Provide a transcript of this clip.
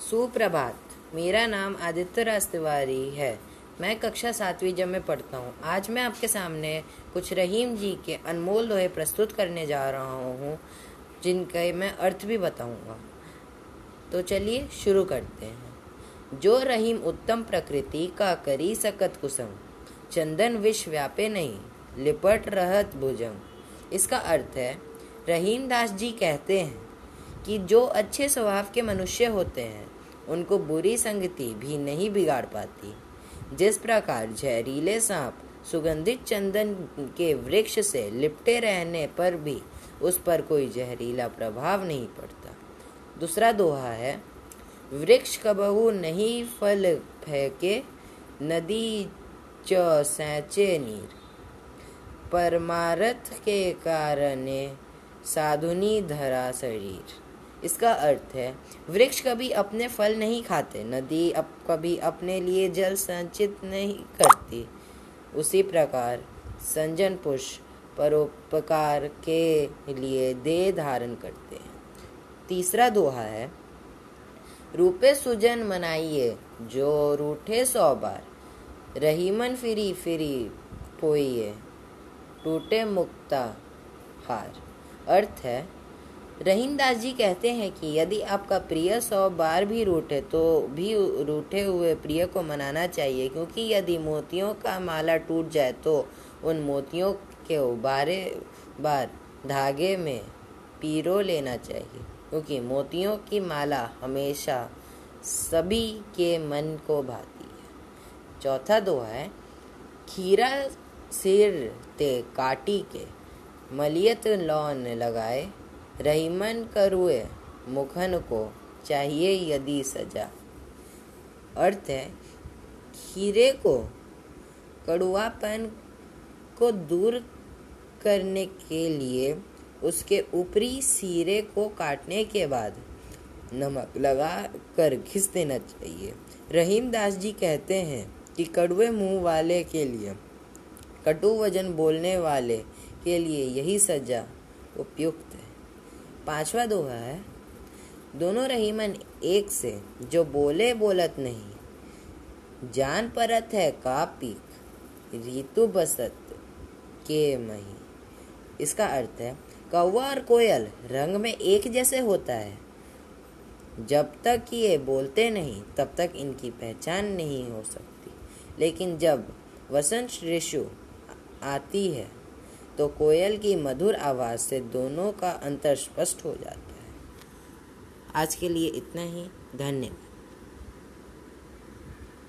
सुप्रभात। मेरा नाम आदित्य राज तिवारी है। मैं कक्षा 7वीं जब में पढ़ता हूँ। आज मैं आपके सामने कुछ रहीम जी के अनमोल दोहे प्रस्तुत करने जा रहा हूँ, जिनके मैं अर्थ भी बताऊँगा। तो चलिए शुरू करते हैं। जो रहीम उत्तम प्रकृति का करी सकत कुसुम, चंदन विष व्यापे नहीं, लिपट रहत भुजंग। इसका अर्थ है, रहीम दास जी कहते हैं कि जो अच्छे स्वभाव के मनुष्य होते हैं उनको बुरी संगति भी नहीं बिगाड़ पाती। जिस प्रकार जहरीले सांप सुगंधित चंदन के वृक्ष से लिपटे रहने पर भी उस पर कोई जहरीला प्रभाव नहीं पड़ता। दूसरा दोहा है, वृक्ष कबहू नहीं फल फेंके, नदी च सैंचे नीर, परमारथ के कारणे साधुनी धरा शरीर। इसका अर्थ है, वृक्ष कभी अपने फल नहीं खाते, नदी कभी अपने लिए जल संचित नहीं करती। उसी प्रकार संजन पुरुष परोपकार के लिए देह धारण करते हैं। तीसरा दोहा है, रूपे सुजन मनाइए जो रूठे 100 बार, रहीमन फिरी फिरी पोइए, टूटे मुक्ता हार। अर्थ है, रहीम दास जी कहते हैं कि यदि आपका प्रिय 100 बार भी रूठे तो भी रूठे हुए प्रिय को मनाना चाहिए, क्योंकि यदि मोतियों का माला टूट जाए तो उन मोतियों के बारे बार धागे में पिरो लेना चाहिए, क्योंकि मोतियों की माला हमेशा सभी के मन को भाती है। चौथा दोहा है, खीरा सिर ते काटी के, मलियत लौन लगाए, रहीमन करुए मुखन को चाहिए यदि सजा। अर्थ है, खीरे को कड़ुआपन को दूर करने के लिए उसके ऊपरी सिरे को काटने के बाद नमक लगा कर घिस देना चाहिए। रहीम दास जी कहते हैं कि कड़वे मुंह वाले के लिए, कटु वचन बोलने वाले के लिए यही सजा उपयुक्त है। पांचवा दोहा है, दोनों रहीमन एक से, जो बोले बोलत नहीं, जान परत है का पीक, ऋतु बसत के मही। इसका अर्थ है, कौवा और कोयल रंग में एक जैसे होता है, जब तक ये बोलते नहीं तब तक इनकी पहचान नहीं हो सकती, लेकिन जब वसंत ऋतु आती है तो कोयल की मधुर आवाज़ से दोनों का अंतर स्पष्ट हो जाता है। आज के लिए इतना ही। धन्यवाद।